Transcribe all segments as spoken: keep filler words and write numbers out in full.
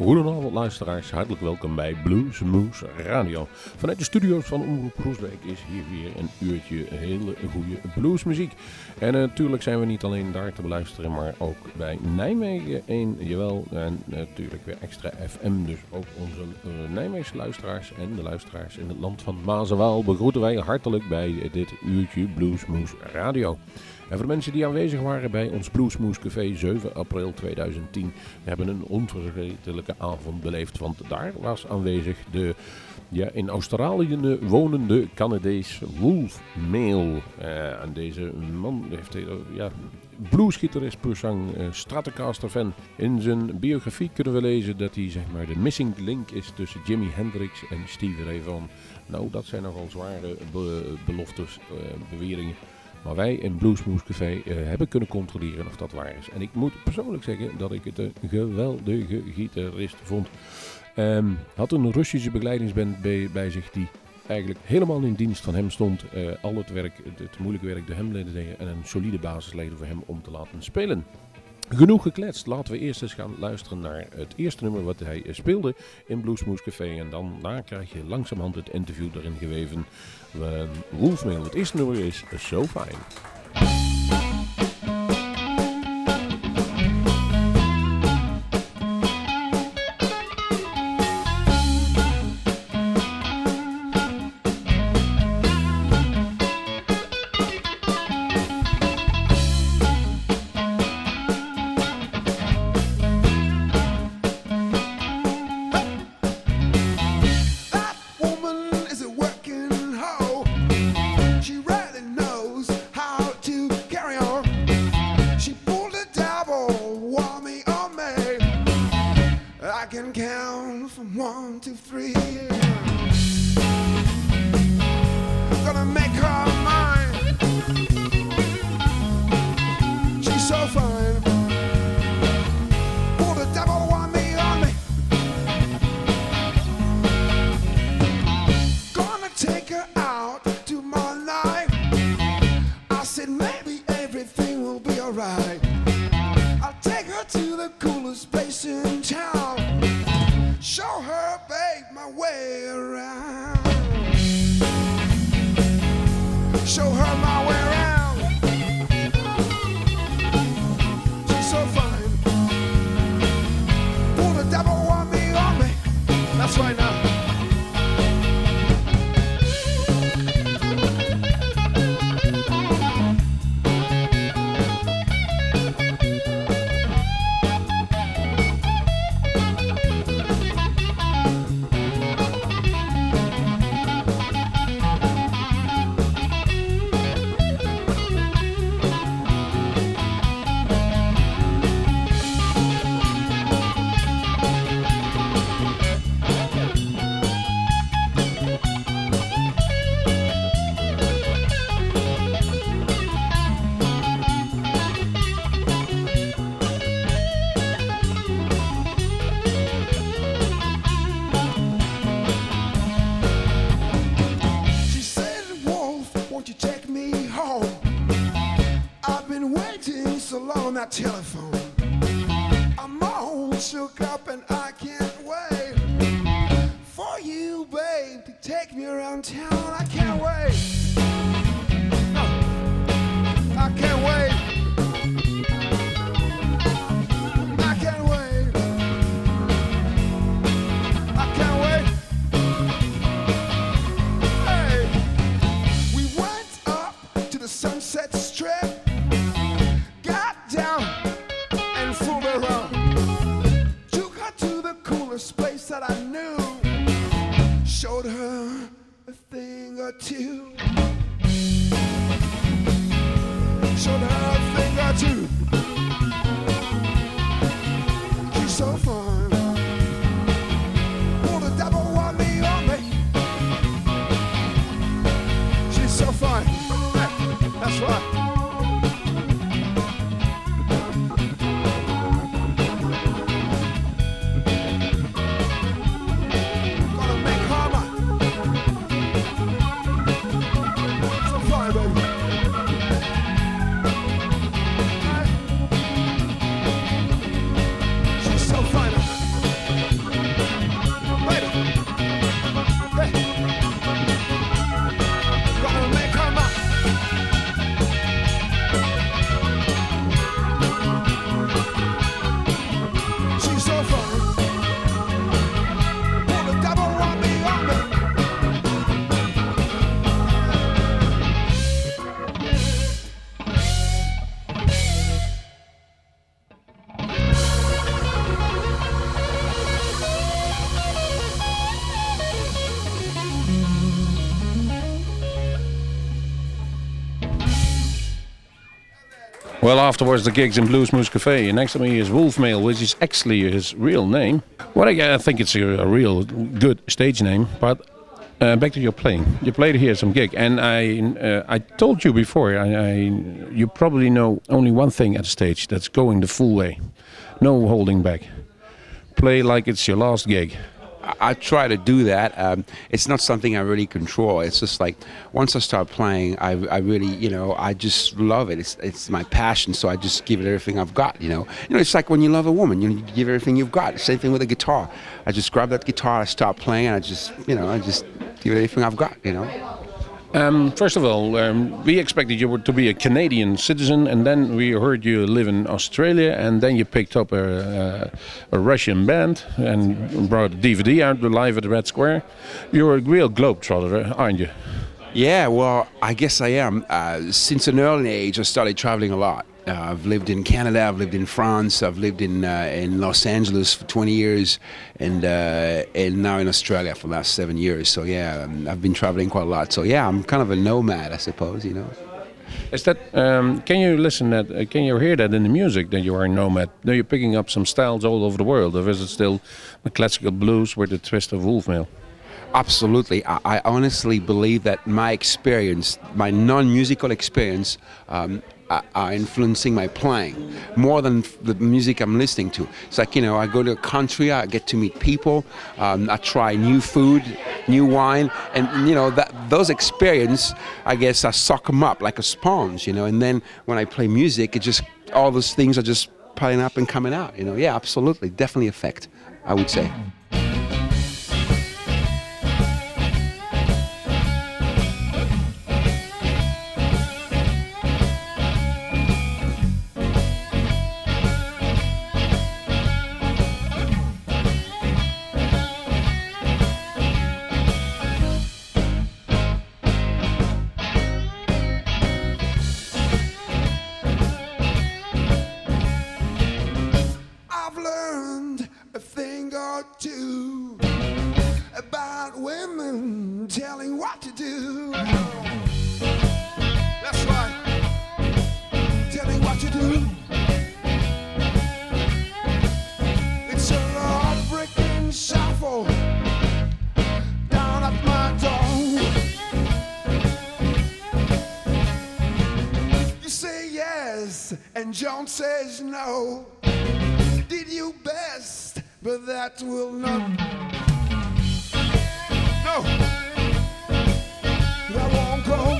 Goedenavond luisteraars, hartelijk welkom bij Bluesmoose Radio. Vanuit de studio's van Omroep Groesbeek is hier weer een uurtje hele goede bluesmuziek. En uh, natuurlijk zijn we niet alleen daar te beluisteren, maar ook bij Nijmegen één, jawel, en natuurlijk weer extra F M. Dus ook onze uh, Nijmeegse luisteraars en de luisteraars in het land van Maas en Waal begroeten wij hartelijk bij dit uurtje Bluesmoose Radio. En voor de mensen die aanwezig waren bij ons Bluesmoose Café zeven april tweeduizend tien, we hebben een onvergetelijke avond beleefd. Want daar was aanwezig de ja, in Australië wonende Canadees Wolf Mail. Uh, en deze man heeft uh, ja, bluesgitarist puur zang, uh, Stratocaster fan. In zijn biografie kunnen we lezen dat hij zeg maar de missing link is tussen Jimi Hendrix en Stevie Ray Vaughan. Nou, dat zijn nogal zware be- beloftes, uh, beweringen. Maar wij in Bluesmoose Café uh, hebben kunnen controleren of dat waar is. En ik moet persoonlijk zeggen dat ik het een geweldige gitarist vond. Um, had een Russische begeleidingsband bij, bij zich die eigenlijk helemaal in dienst van hem stond. Uh, al het werk, het, het moeilijke werk door hem leden deden en een solide basis leden voor hem om te laten spelen. Genoeg gekletst, laten we eerst eens gaan luisteren naar het eerste nummer wat hij speelde in Bluesmoose Café. En dan daar krijg je langzamerhand het interview erin geweven. Uh, Wolfmail, het eerste nummer is So Fine. Telephone. I'm all shook up and I can't wait for you, babe, to take me around town. I can't wait. No, I can't wait. I can't wait. I can't wait. Hey, we went up to the Sunset Strip. Place that I knew, showed her a thing or two, showed her a thing or two. She's so fine. Oh, the devil want me on me. She's so fine. Hey, that's right. Baby. Well, afterwards the gigs in Blues Moose Cafe. Next to me is Wolfmail, which is actually his real name. Well, I, I think it's a, a real good stage name. But uh, back to your playing. You played here some gig, and I uh, I told you before. I, I you probably know only one thing at the stage. That's going the full way, no holding back. Play like it's your last gig. I try to do that. Um, it's not something I really control. It's just like once I start playing, I, I really, you know, I just love it. It's it's my passion, so I just give it everything I've got. You know, you know, it's like when you love a woman, you, know, you give everything you've got. Same thing with a guitar. I just grab that guitar, I start playing, and I just, you know, I just give it everything I've got. You know. Um, first of all, um, we expected you were to be a Canadian citizen, and then we heard you live in Australia, and then you picked up a, a, a Russian band and brought a D V D out live at the Red Square. You're a real globetrotter, aren't you? Yeah, well, I guess I am. Uh, since an early age, I started traveling a lot. Uh, I've lived in Canada, I've lived in France, I've lived in uh, in Los Angeles for twenty years, and uh, and now in Australia for the last seven years. So yeah, um, I've been traveling quite a lot. So yeah, I'm kind of a nomad, I suppose. You know. Is that? Um, can you listen that? Uh, can you hear that in the music that you are a nomad? Are you picking up some styles all over the world, or is it still the classical blues with the twist of Wolfmail? Absolutely. I, I honestly believe that my experience, my non-musical experience, um, are, are influencing my playing more than the music I'm listening to. It's like, you know, I go to a country, I get to meet people, um, I try new food, new wine, and, you know, that those experiences, I guess, I suck them up like a sponge, you know, and then when I play music, it just, all those things are just piling up and coming out, you know. Yeah, absolutely. Definitely affect, I would say. And John says no. Did you best, but that will not. No, I won't go.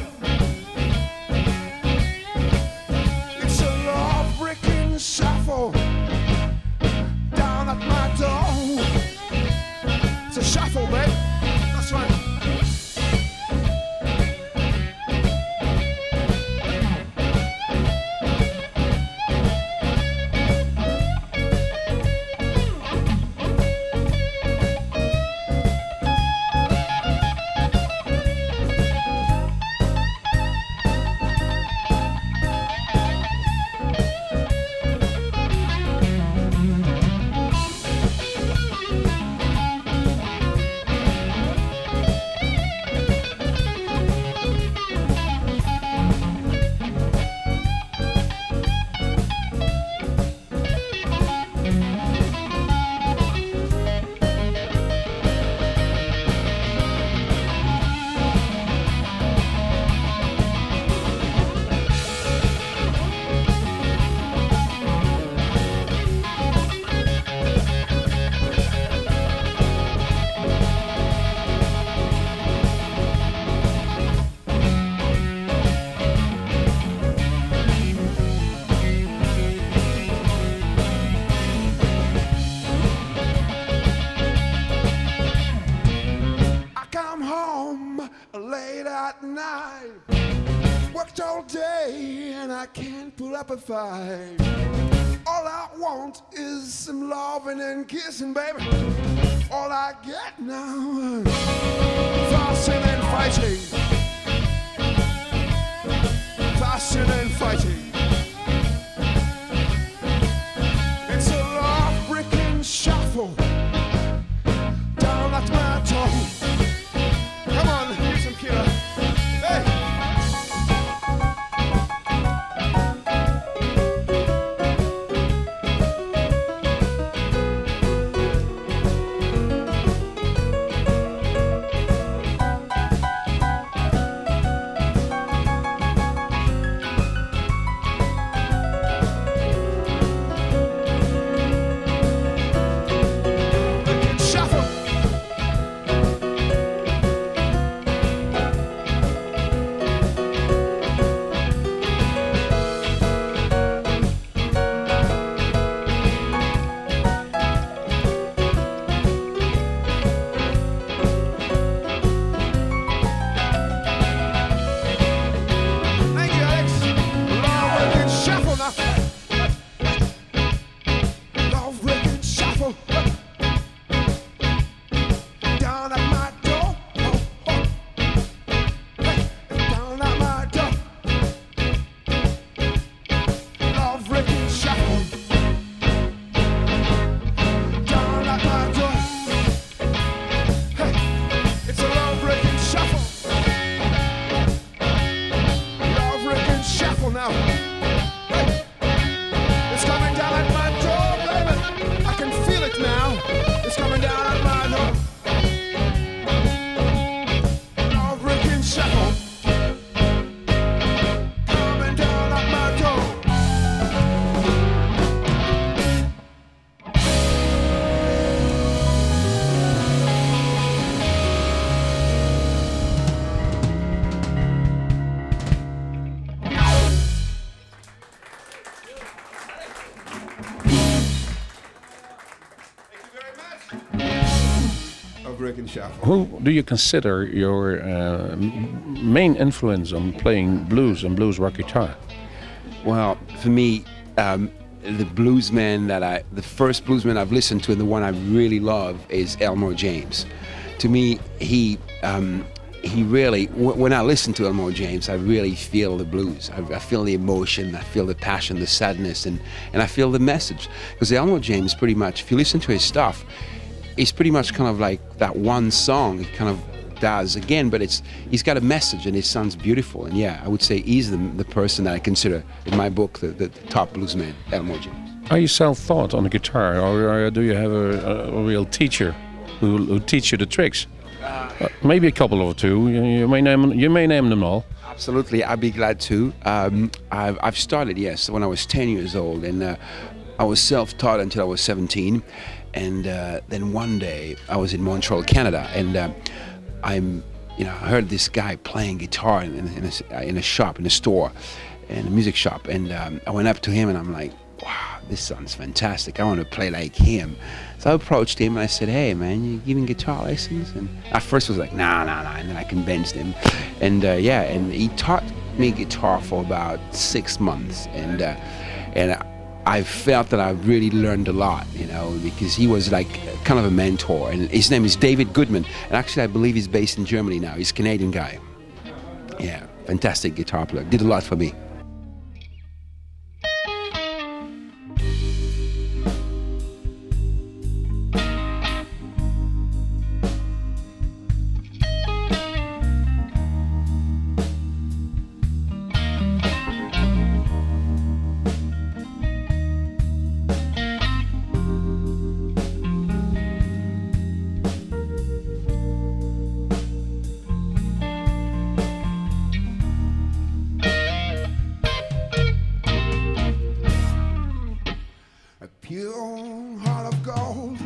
It's a law-breaking shuffle down at my door. It's a shuffle, babe. That's right. Up a fight. All I want is some loving and kissing, baby. All I get now, fussing and fighting, fussing and fighting. It's a love-breaking shuffle down at my toe. Come on, here's some killer. Hey. brick and shovel. Who do you consider your uh, m- main influence on playing blues and blues rock guitar? Well, for me, um, the bluesman that I, the first bluesman I've listened to and the one I really love is Elmore James. To me, he um, he really, w- when I listen to Elmore James, I really feel the blues. I, I feel the emotion, I feel the passion, the sadness, and, and I feel the message. Because Elmore James, pretty much, if you listen to his stuff, it's pretty much kind of like that one song. It kind of does again, but it's he's got a message and it sounds beautiful. And yeah, I would say he's the, the person that I consider in my book the, the top bluesman, Elmore James. Are you self-taught on the guitar, or, or do you have a, a, a real teacher who, who teach you the tricks? Uh, maybe a couple or two. You, you may name you may name them all. Absolutely, I'd be glad to. Um, I've, I've started, yes, when I was ten years old, and uh, I was self-taught until I was seventeen. And uh, then one day I was in Montreal, Canada, and uh, I'm, you know, I heard this guy playing guitar in, in, a, in a shop, in a store, in a music shop, and um, I went up to him and I'm like, wow, this sounds fantastic. I want to play like him. So I approached him and I said, hey man, you giving guitar lessons? And at first he was like, nah, nah, nah. And then I convinced him. And uh, yeah, and he taught me guitar for about six months. And uh, and I felt that I really learned a lot, you know, because he was like kind of a mentor. And his name is David Goodman. And actually I believe he's based in Germany now. He's a Canadian guy. Yeah, fantastic guitar player. Did a lot for me. Pure heart of gold.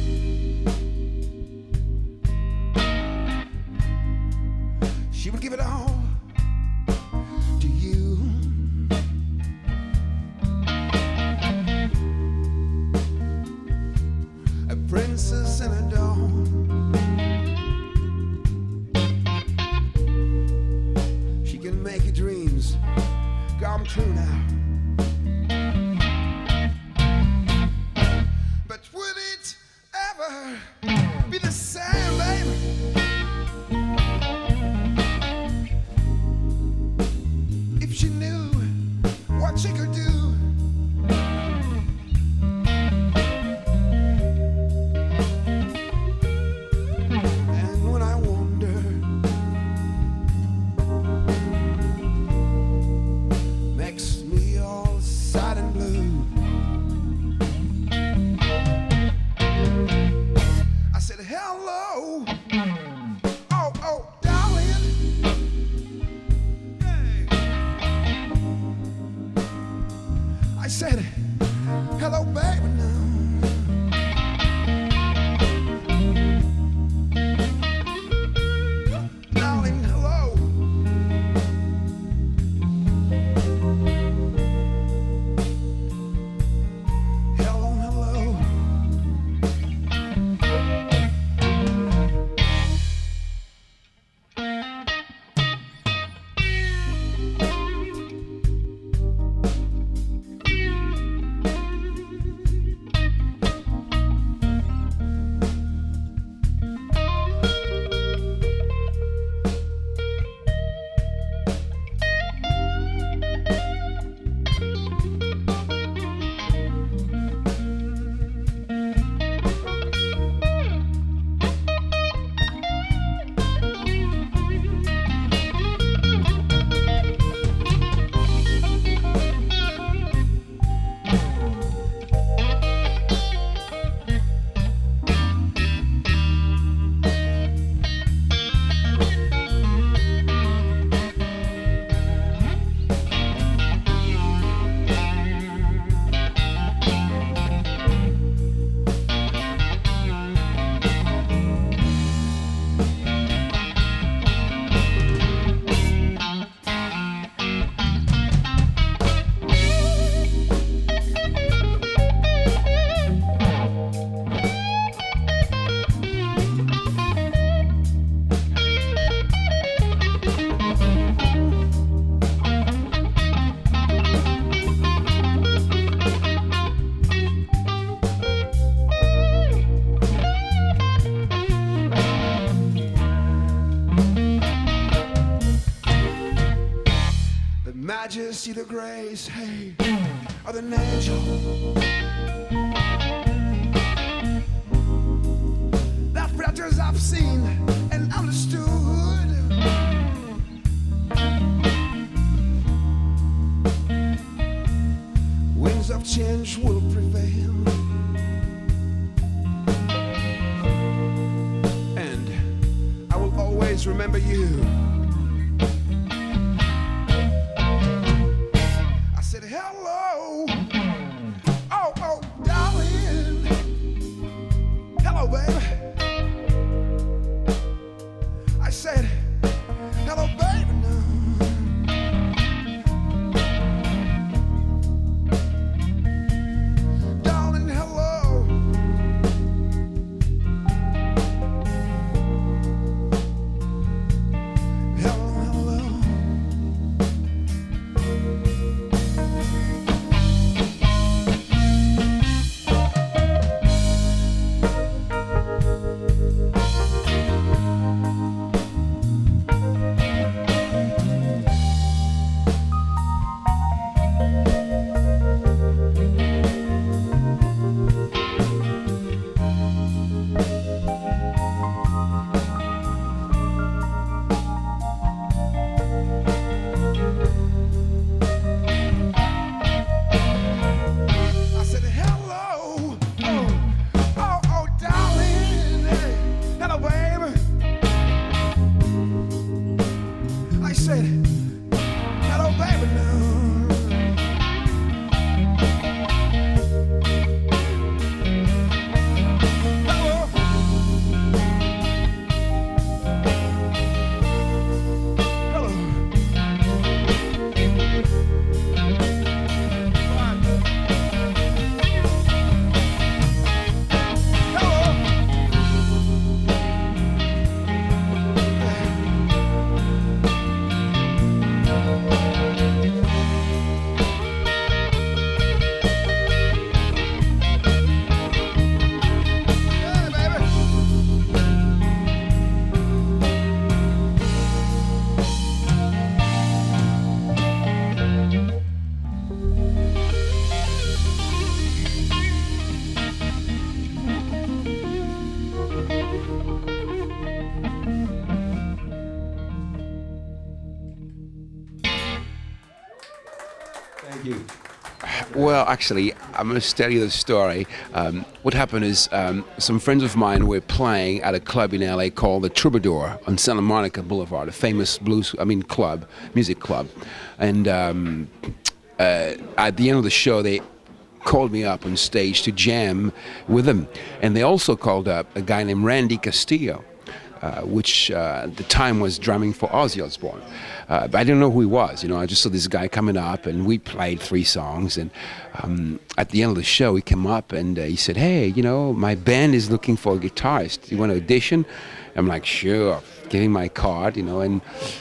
She would give it all to you. A princess in a dawn. She can make your dreams come true now. Be the same, baby. If she knew what she could do. And when I wonder, makes me all sad and blue. Hello, oh, oh, darling. Hey. I said, hello, baby, now. Darling, hello. Hello, hello. majesty, the grace, hey, of an angel. The predators I've seen and understood. Winds of change will prevail. And I will always remember you. Hello, oh, oh, darling. Hello, baby. I said, hello, baby, now. Darling, hello. Hello, hello. Well, actually, I must tell you the story. Um, what happened is um, some friends of mine were playing at a club in L A called the Troubadour on Santa Monica Boulevard, a famous blues, I mean, club, music club. And um, uh, at the end of the show, they called me up on stage to jam with them. And they also called up a guy named Randy Castillo, uh, which uh, at the time was drumming for Ozzy Osbourne. Uh, but I didn't know who he was, you know. I just saw this guy coming up, and we played three songs. And um, at the end of the show, he came up and uh, he said, "Hey, you know, my band is looking for a guitarist. You want to audition?" I'm like, "Sure." Gave him my card, you know. And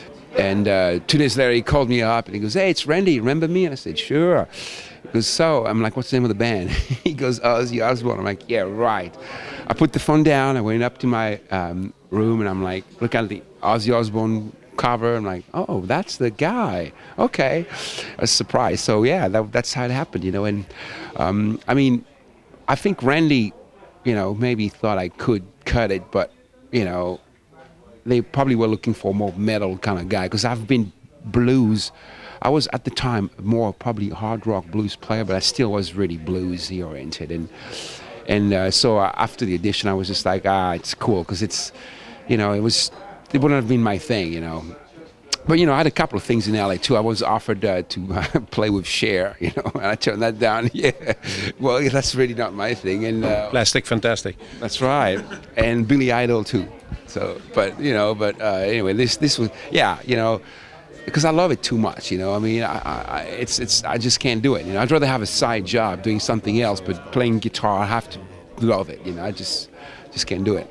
and uh, two days later, he called me up and he goes, "Hey, it's Randy. Remember me?" And I said, "Sure." He goes, "So," I'm like, "What's the name of the band?" He goes, "Ozzy Osbourne." I'm like, "Yeah, right." I put the phone down. I went up to my um, room and I'm like, look at the Ozzy Osbourne cover. I'm like, "Oh, that's the guy." Okay, I was surprised. So yeah, that, that's how it happened, you know. And um, I mean, I think Randy, you know, maybe thought I could cut it, but you know, they probably were looking for a more metal kind of guy because I've been blues. I was at the time more probably hard rock blues player, but I still was really bluesy oriented. And and uh, so after the audition, I was just like, ah, it's cool because it's, you know, it was. It wouldn't have been my thing, you know. But, you know, I had a couple of things in L A, too. I was offered uh, to uh, play with Cher, you know, and I turned that down. Yeah, well, that's really not my thing. And uh, Plastic Fantastic. That's right. And Billy Idol, too. So, but, you know, but uh, anyway, this this was, yeah, you know, because I love it too much, you know. I mean, I, I, it's, it's, I just can't do it, you know. I'd rather have a side job doing something else, but playing guitar, I have to love it, you know. I just, just can't do it.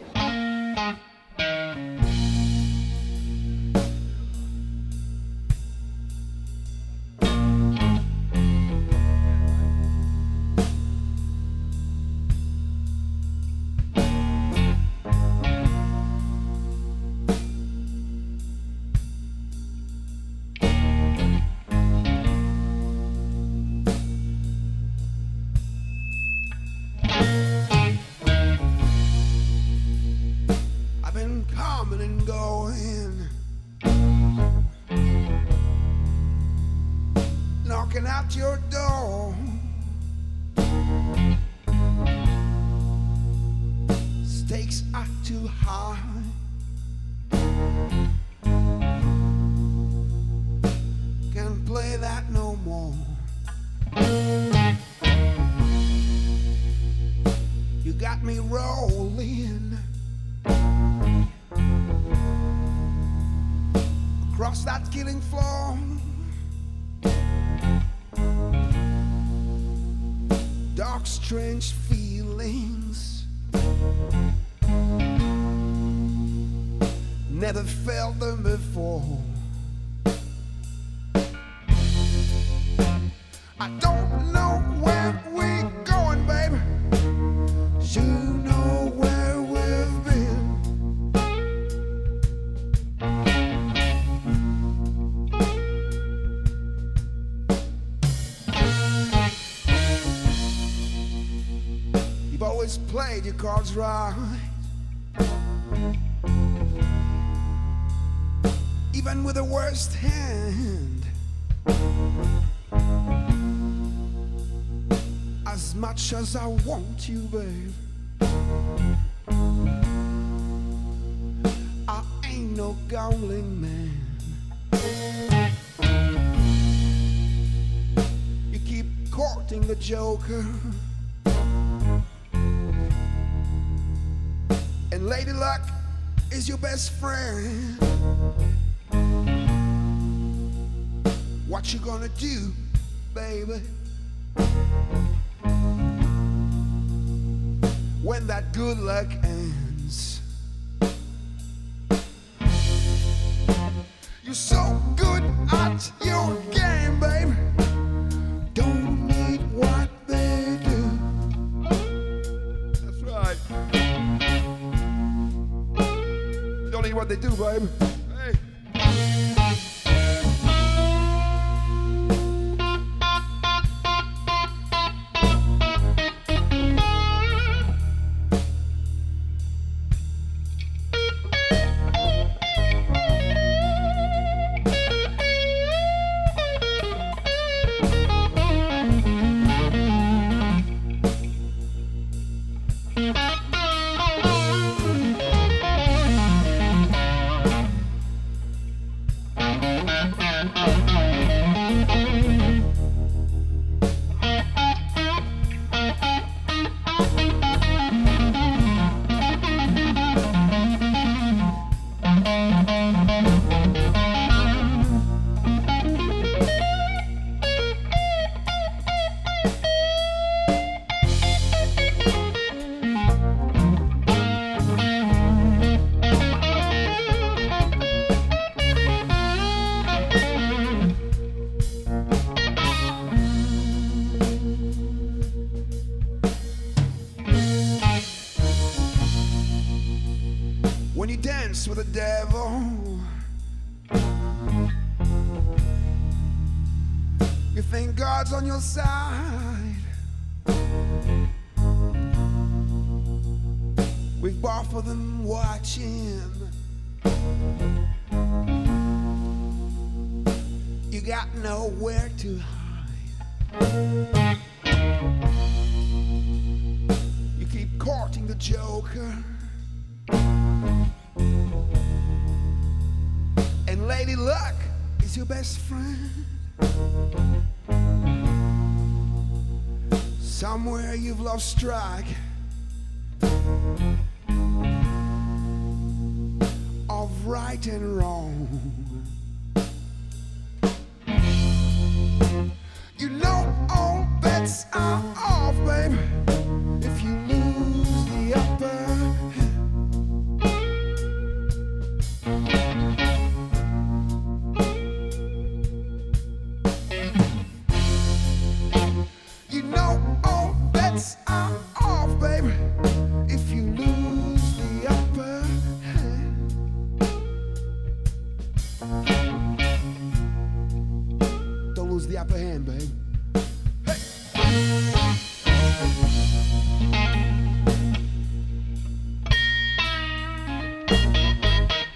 coming and going, knocking at your door. Stakes are too high. Can't play that no more. You got me rolling across that killing floor. Dark, strange feelings, never felt them before. I don't know where we're going, baby. You know where we've been. You've always played your cards right, even with the worst hand. As much as I want you, babe, I ain't no gambling man. You keep courting the joker, and Lady Luck is your best friend. What you gonna do, baby, when that good luck ends? You're so good at your game, baby. Don't need what they do. That's right. Don't need what they do, baby. Hey. When you dance with the devil, you think God's on your side. With both of them watching, you got nowhere to hide. You keep courting the joker, and Lady Luck is your best friend. Somewhere you've lost track of right and wrong. You know all bets are off, baby, if you lose the upper hand. You know all bets are off, baby, if you lose the upper hand. Don't lose the upper hand, babe. Hey!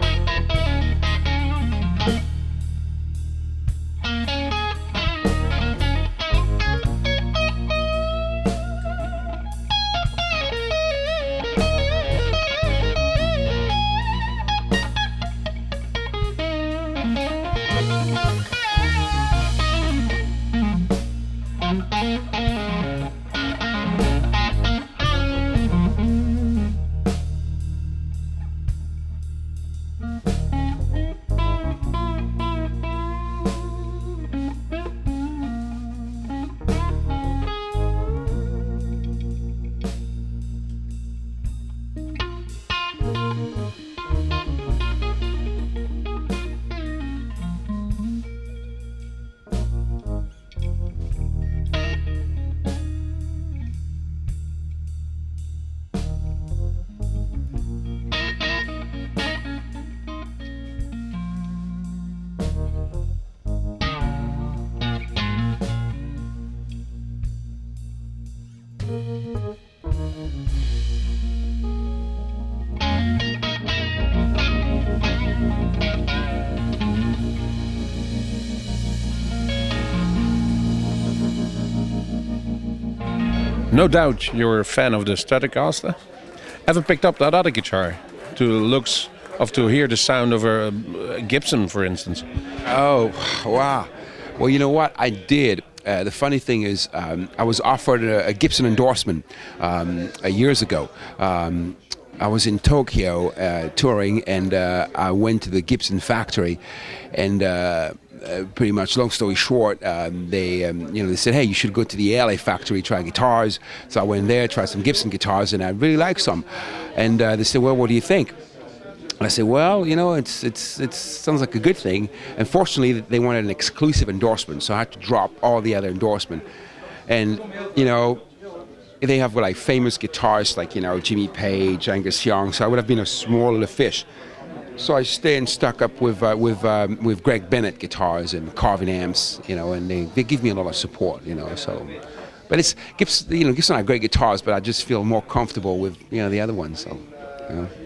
No doubt you're a fan of the Stratocaster. Ever picked up that other guitar to looks of to hear the sound of a, a Gibson, for instance? Oh, wow. Well, you know what? I did. Uh, the funny thing is, um, I was offered a, a Gibson endorsement um, uh, years ago. Um, I was in Tokyo uh, touring, and uh, I went to the Gibson factory, and uh, uh, pretty much, long story short, um, they, um, you know, they said, "Hey, you should go to the L A factory, try guitars." So I went there, tried some Gibson guitars, and I really liked some. And uh, they said, "Well, what do you think?" And I said, "Well, you know, it's it's it sounds like a good thing." Unfortunately, they wanted an exclusive endorsement, so I had to drop all the other endorsement. And you know, they have like famous guitarists like, you know, Jimmy Page, Angus Young. So I would have been a smaller fish. So I stayed and stuck up with uh, with um, with Greg Bennett guitars and Carvin amps, you know, and they, they give me a lot of support, you know. So, but it's Gibson, you know, Gibson are great guitars, but I just feel more comfortable with, you know, the other ones. So, you know.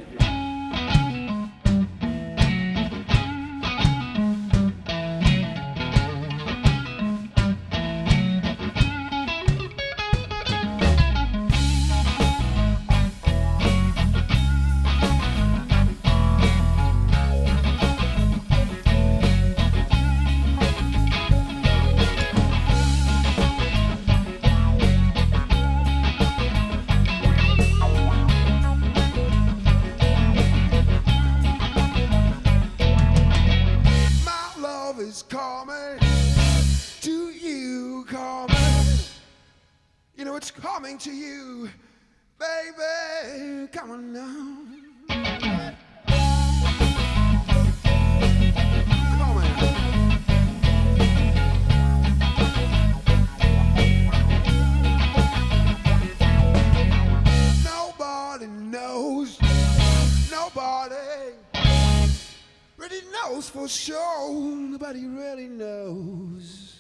To you, baby, come on now. Come on. Nobody knows, nobody really knows for sure. Nobody really knows.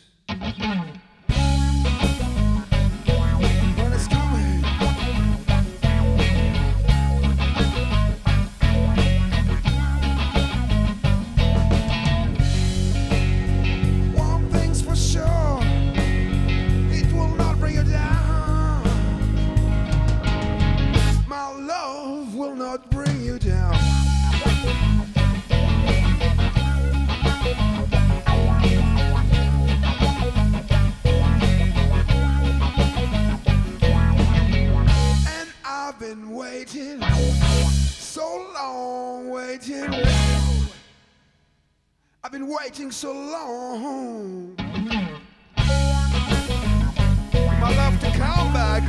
I've been waiting so long, my love to come back.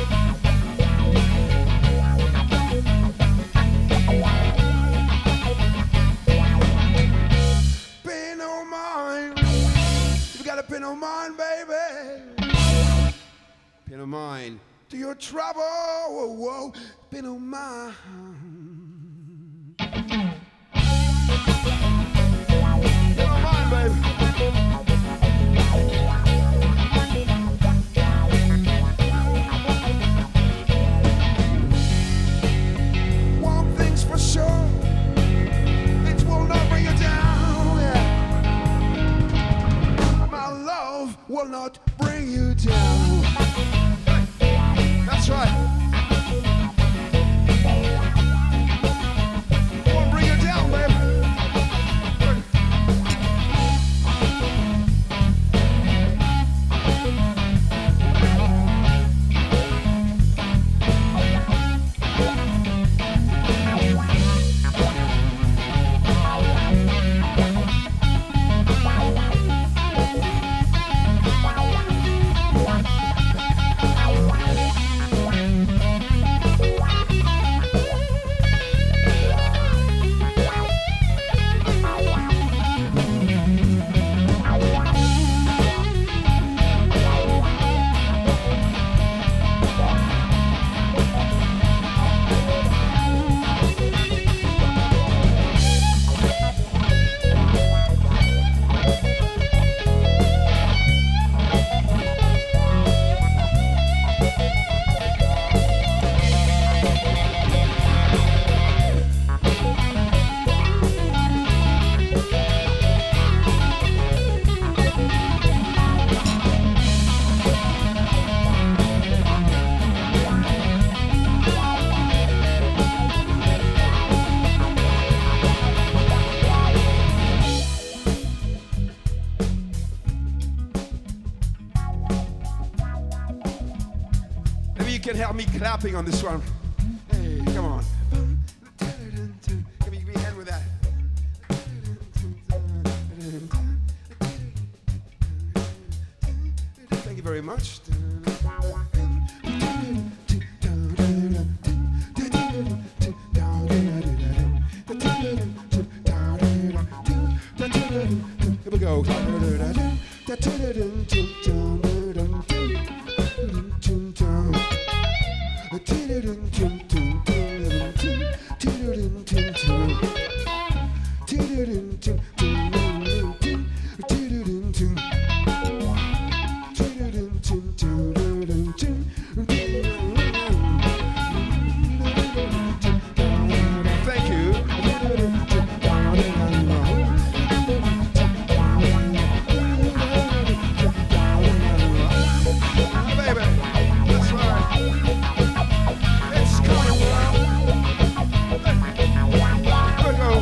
Pay no mind, you gotta pay no mind, baby. Pay no mind to your trouble, whoa, whoa. Pay no mind. Baby. One thing's for sure, it will not bring you down. Yeah. My love will not bring you down. That's right. It won't bring you got me clapping on this one. Hey, come on. Give me a hand with that. Thank you very much. Here we go. Thank you. Baby, that's right. It's coming now. Here we go.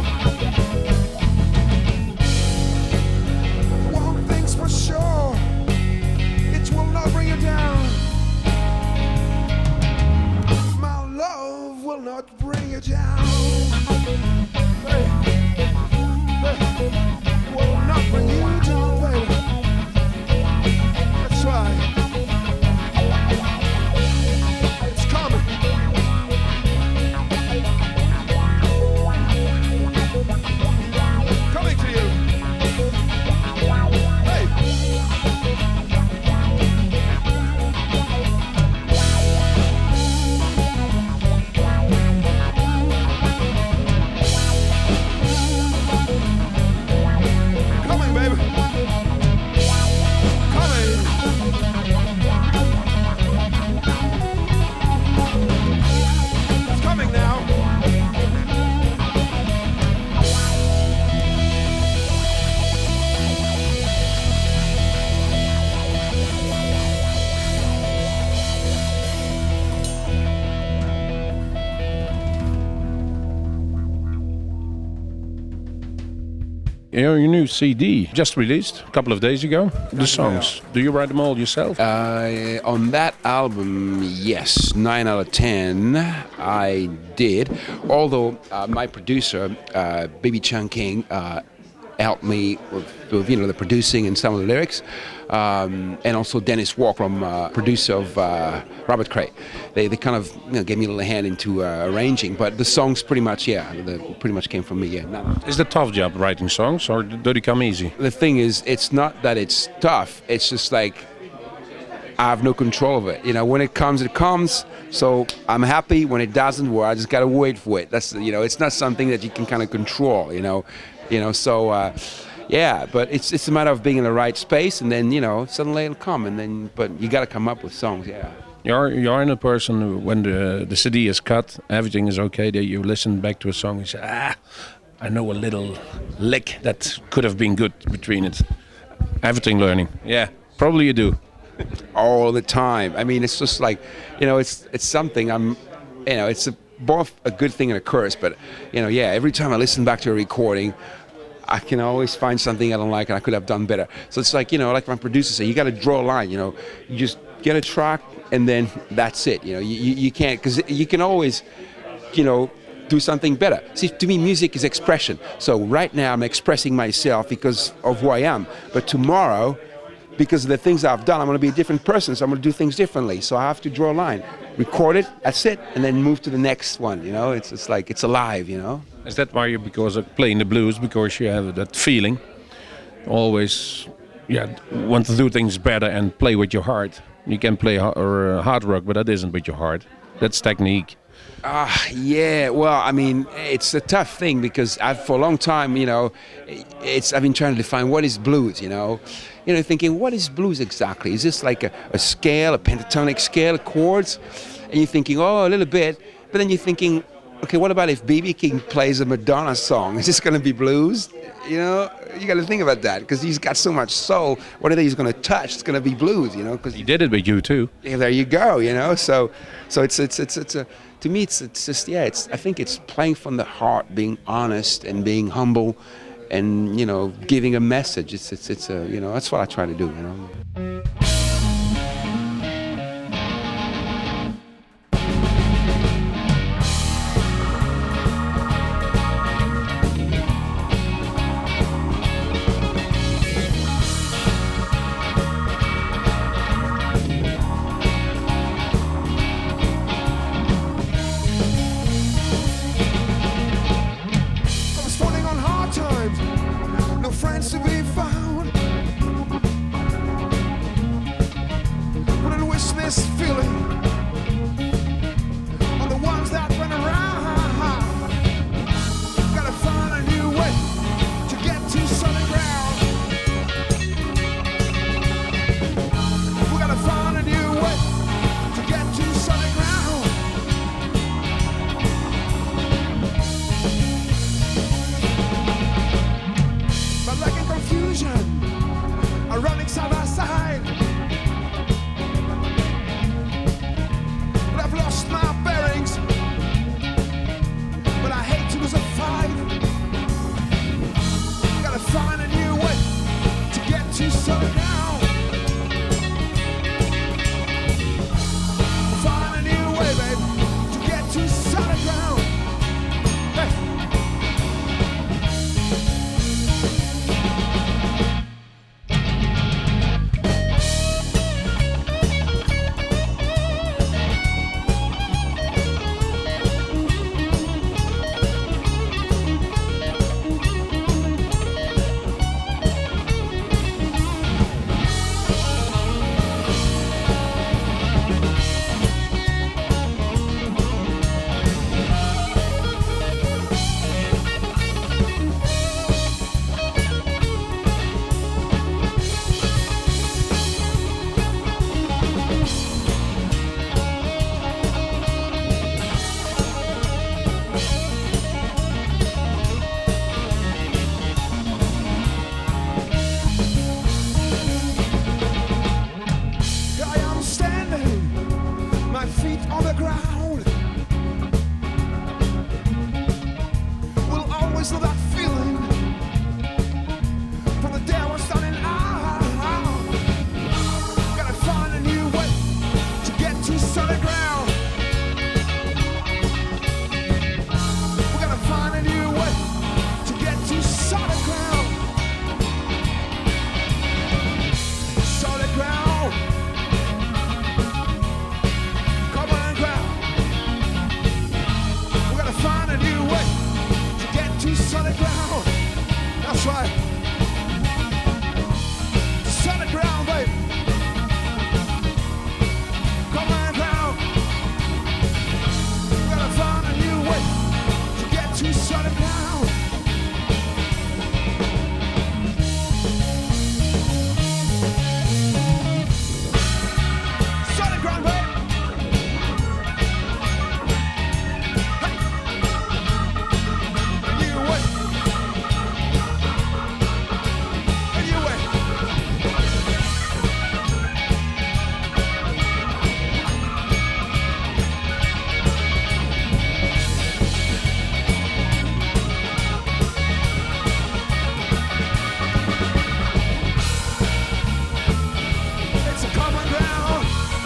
One thing's for sure, it will not bring you down. My love will not bring you down. Hey, hey, will not bring you down, baby. That's right. It's coming. Coming to you. Hey. Coming, baby. Coming. It's coming now. Your new C D just released a couple of days ago. The songs. Do you write them all yourself? Uh, on that album, yes, nine out of ten, I did. Although uh, my producer, uh, Baby Chan King, uh, helped me with, with you know the producing and some of the lyrics, um, and also Dennis Walk, from uh, producer of uh, Robert Cray. They they kind of you know, gave me a little hand into uh, arranging, but the songs pretty much yeah, the, pretty much came from me. Yeah. No. Is it a tough job writing songs, or do they come easy? The thing is, it's not that it's tough. It's just like I have no control of it. You know, when it comes, it comes. So I'm happy. When it doesn't, well, I just gotta wait for it. That's you know, it's not something that you can kind of control. You know, you know. So uh, yeah, but it's it's a matter of being in the right space, and then you know, suddenly it'll come. And then, but you gotta come up with songs. Yeah. You're you're in a person who, when the the C D is cut, everything is okay. That you listen back to a song and say, ah, I know a little lick that could have been good between it. Everything learning. Yeah, probably you do. All the time. I mean, it's just like, you know, it's it's something I'm, you know, it's a, both a good thing and a curse. But, you know, yeah, every time I listen back to a recording, I can always find something I don't like and I could have done better. So it's like, you know, like my producer said, you got to draw a line, you know. You just get a track and then that's it. You know, you, you, you can't, because you can always, you know, do something better. See, to me, music is expression. So right now I'm expressing myself because of who I am. But tomorrow, because of the things I've done, I'm going to be a different person, so I'm going to do things differently. So I have to draw a line, record it, that's it, and then move to the next one, you know? It's it's like, it's alive, you know? Is that why you, because of playing the blues, because you have that feeling, always, yeah, want to do things better and play with your heart. You can play ha- or uh, hard rock, but that isn't with your heart. That's technique. Ah, uh, yeah. Well, I mean, it's a tough thing because I've, for a long time, you know, it's I've been trying to define what is blues, you know, you know, thinking what is blues exactly? Is this like a, a scale, a pentatonic scale of chords? And you're thinking, oh, a little bit, but then you're thinking, okay, what about if B B King plays a Madonna song? Is this going to be blues? You know, you got to think about that because he's got so much soul. Whatever he's going to touch, it's going to be blues. You know, because he did it with you too. Yeah, there you go. You know, so so it's it's it's it's a to me it's it's just yeah. It's I think it's playing from the heart, being honest and being humble, and you know, giving a message. It's it's it's a you know that's what I try to do. You know. always love that feeling from the day I was starting out. Gotta find a new way to get to solid ground. We're gonna find a new way to get to solid ground. Solid ground. Common ground. We're gonna find a new way to get to solid ground. That's right. Solid ground, baby. Common ground. We're gonna find a new way to get to solid ground. Solid ground, baby. Hey. A new way. A new way. It's a common ground.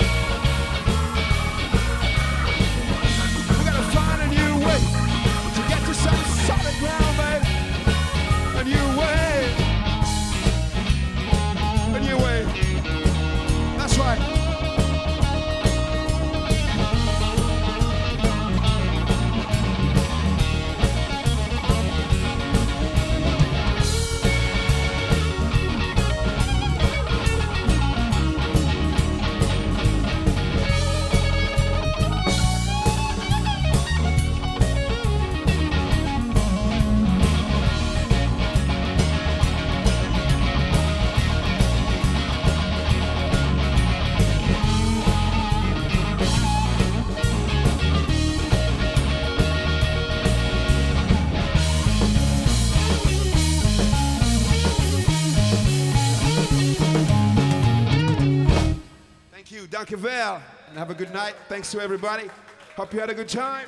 We gotta find a new way to get to some solid ground, baby. A new way. A new way. That's right. Thank you, dank u wel. And have a good night. Thanks to everybody. Hope you had a good time.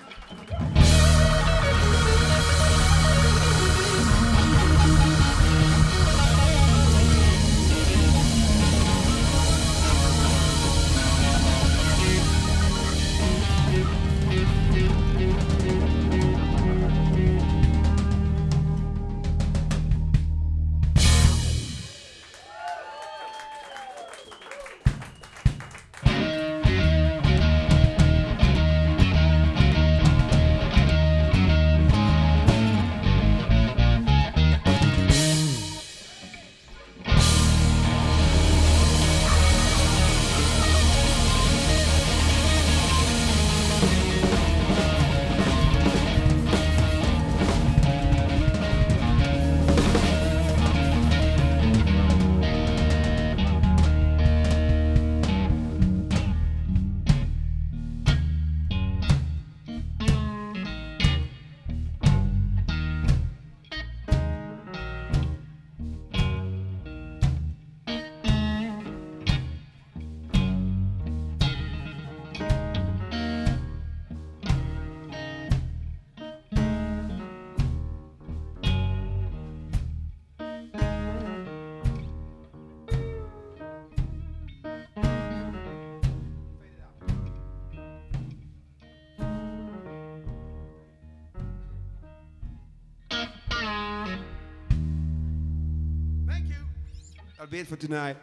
That'll be it for tonight.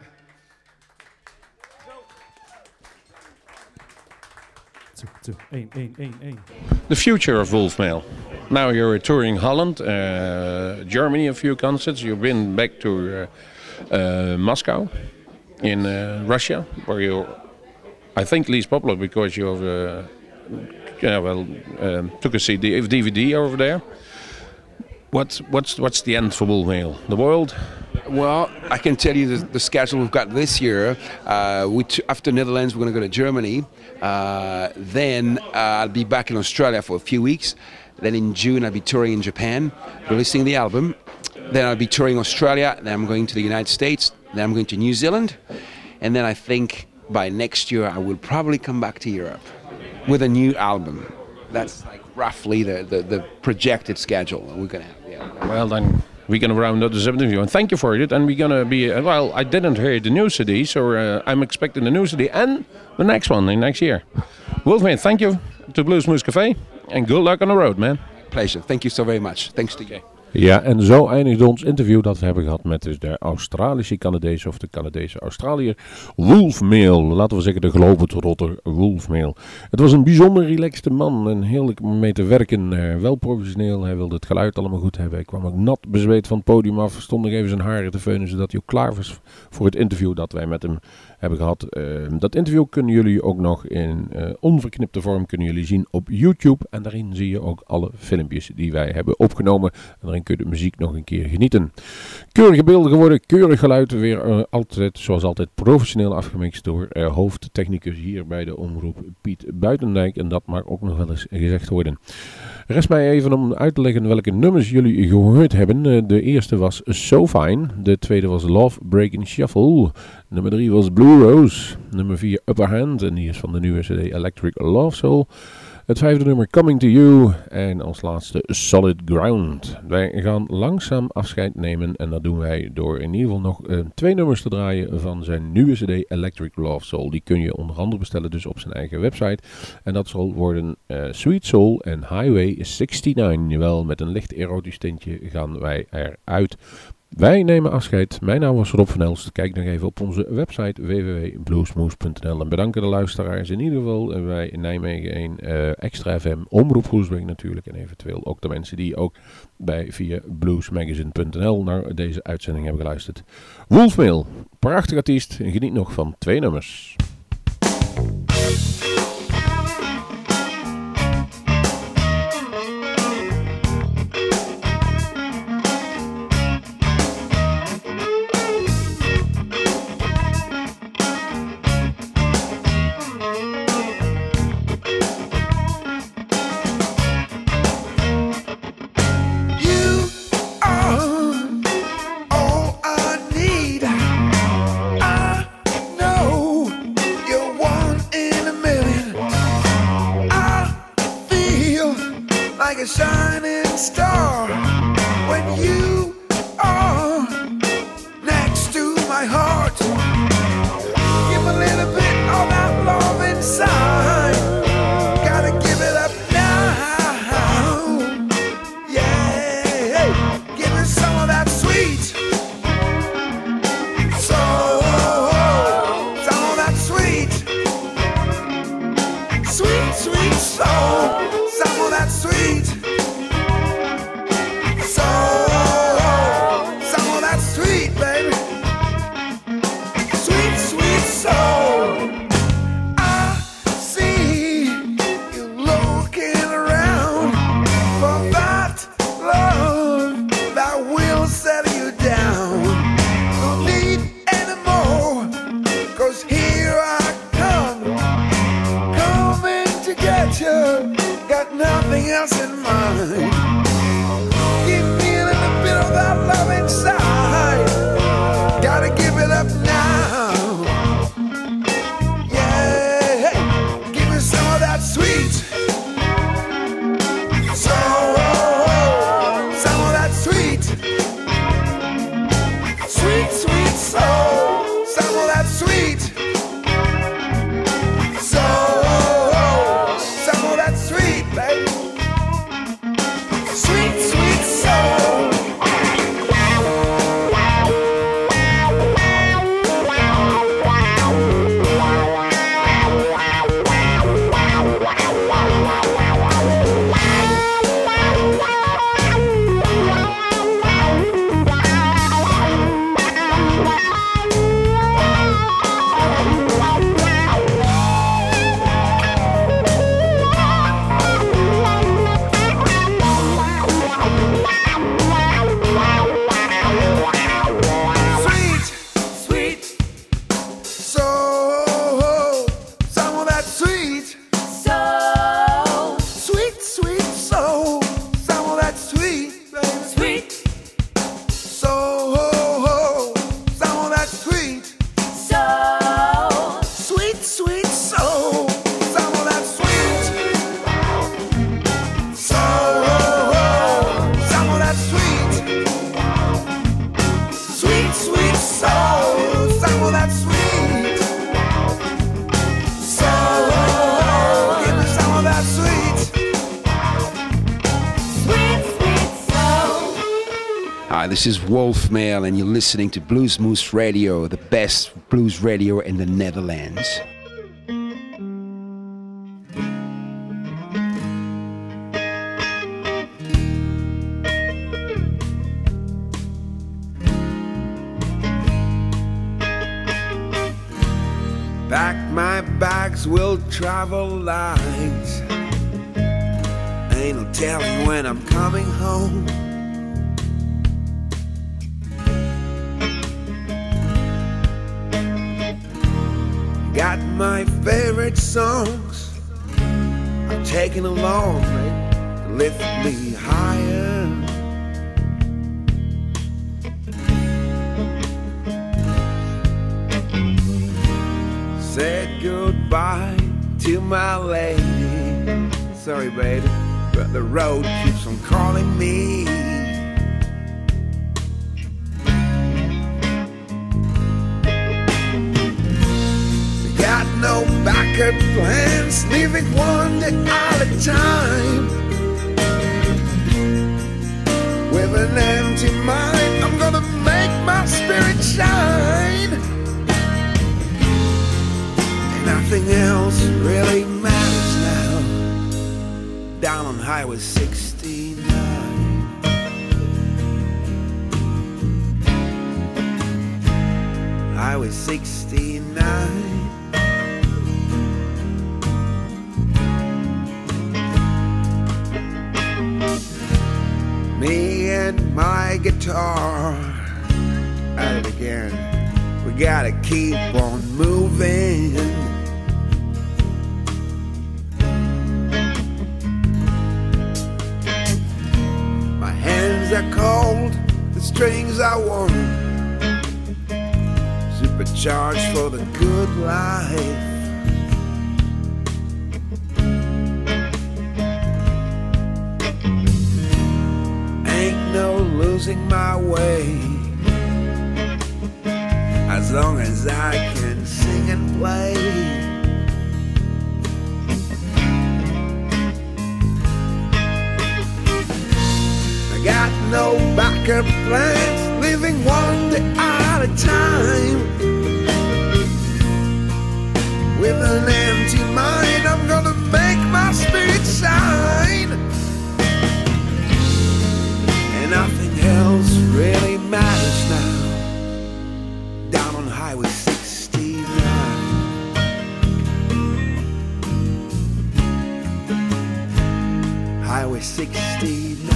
Two, two, één, één, één, één. The future of Wolfmail. Now you're touring Holland, uh, Germany, a few concerts. You've been back to uh, uh, Moscow, in uh, Russia, where you're, I think, least popular because you uh, yeah, well, um, took a C D, D V D over there. What's what's what's the end for Wolfmail? The world? Well, I can tell you the, the schedule we've got this year. Uh, we t- after Netherlands, we're going to go to Germany. Uh, then uh, I'll be back in Australia for a few weeks. Then in June, I'll be touring in Japan, releasing the album. Then I'll be touring Australia. Then I'm going to the United States. Then I'm going to New Zealand. And then I think by next year, I will probably come back to Europe with a new album. That's like roughly the, the, the projected schedule we're going to have. Yeah. Well, then we're going to round up this interview. And thank you for it. And we're going to be, uh, well, I didn't hear the new C D, so uh, I'm expecting the new C D and the next one in next year. Wolfman, thank you to Bluesmoose Café. And good luck on the road, man. Pleasure. Thank you so very much. Thanks to you. Ja, en zo eindigt ons interview dat we hebben gehad met dus de Australische Canadees of de Canadese Australiër Wolfmail. Laten we zeggen de globetrotter Wolfmail. Het was een bijzonder relaxte man en heerlijk om mee te werken. Uh, wel professioneel, hij wilde het geluid allemaal goed hebben. Hij kwam ook nat bezweet van het podium af, stond nog even zijn haren te veunen zodat hij ook klaar was voor het interview dat wij met hem hebben gehad. Uh, dat interview kunnen jullie ook nog in uh, onverknipte vorm kunnen jullie zien op YouTube. En daarin zie je ook alle filmpjes die wij hebben opgenomen. En daarin kun je de muziek nog een keer genieten. Keurige beelden geworden, keurig geluid. Weer uh, altijd, zoals altijd, professioneel afgemixt door uh, hoofdtechnicus hier bij de omroep Piet Buitendijk. En dat mag ook nog wel eens gezegd worden. Rest mij even om uit te leggen welke nummers jullie gehoord hebben. Uh, de eerste was So Fine. De tweede was Love Breaking Shuffle. Nummer drie was Blue Rose. Nummer vier Upper Hand. En die is van de nieuwe C D Electric Love Soul. Het vijfde nummer Coming to You. En als laatste Solid Ground. Wij gaan langzaam afscheid nemen. En dat doen wij door in ieder geval nog uh, twee nummers te draaien van zijn nieuwe C D Electric Love Soul. Die kun je onder andere bestellen dus op zijn eigen website. En dat zal worden uh, Sweet Soul en Highway negenenzestig. Jawel, met een licht erotisch tintje gaan wij eruit. Wij nemen afscheid. Mijn naam was Rob van Elst. Kijk nog even op onze website w w w punt bluesmoose punt n l. En bedanken de luisteraars in ieder geval bij Nijmegen één, uh, Extra F M, Omroep Groesbeek natuurlijk. En eventueel ook de mensen die ook bij via bluesmagazine punt n l naar deze uitzending hebben geluisterd. Wolfmail, prachtig artiest. En geniet nog van twee nummers. A shining star when you are next to my heart. Give a little bit of that love inside. Gotta give it up now. Yeah, give me some of that sweet. So, some of that sweet. Sweet, sweet soul. Some of that sweet. So, some of that sweet, baby. Sweet, sweet soul. I see you looking around for that love that will settle you down. Don't need any more, 'cause here I come, coming to get you. Got nothing else in mind. Give me a little bit of that love inside. Gotta give it up now. Yeah, hey, give me some of that sweet. So, some of that sweet. Sweet, sweet soul. Some of that sweet. So, some of that sweet, baby. Hi, this is Wolf Mail, and you're listening to Blues Moose Radio, the best blues radio in the Netherlands. Pack my bags, will travel light. Ain't no telling when I'm coming home. Got my favorite songs I'm taking along to lift me higher. Said goodbye to my lady. Sorry, baby, but the road keeps on calling me. Got no backup plans, living one day at a time. With an empty mind, I'm gonna make my spirit shine. Nothing else really matters now. Down on Highway sixty-nine. Highway sixty-nine. Me and my guitar at it again. We gotta keep on moving. My hands are cold, the strings are warm. Supercharged for the good life. Ain't no losing my way, as long as I can sing and play. I got no backup plans, living one day at a time. With an empty mind, I'm gonna make my spirit shine. And nothing else really matters now. Down on Highway sixty-nine. Highway sixty-nine.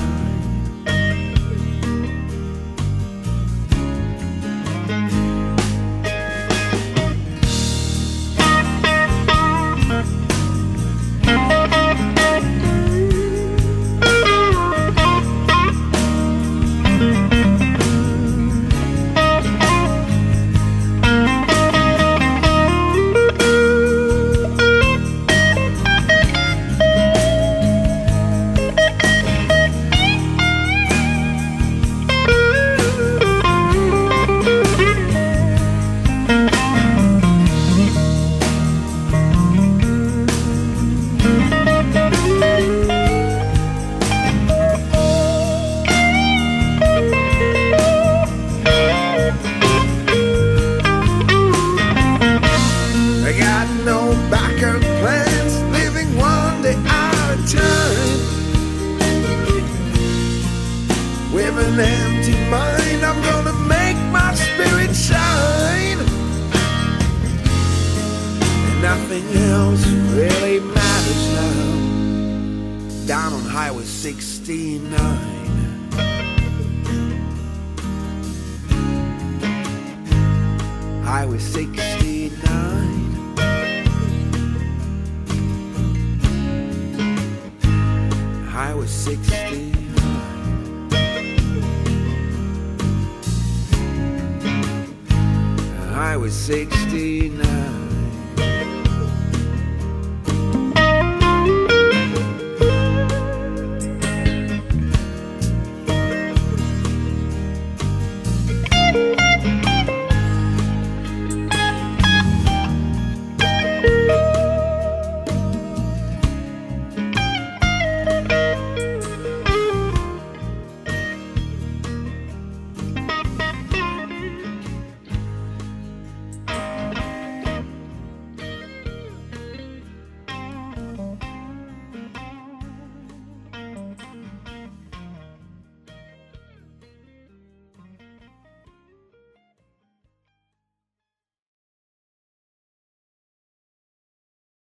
Highway sixty-nine. Highway sixty-nine. Highway sixty-nine.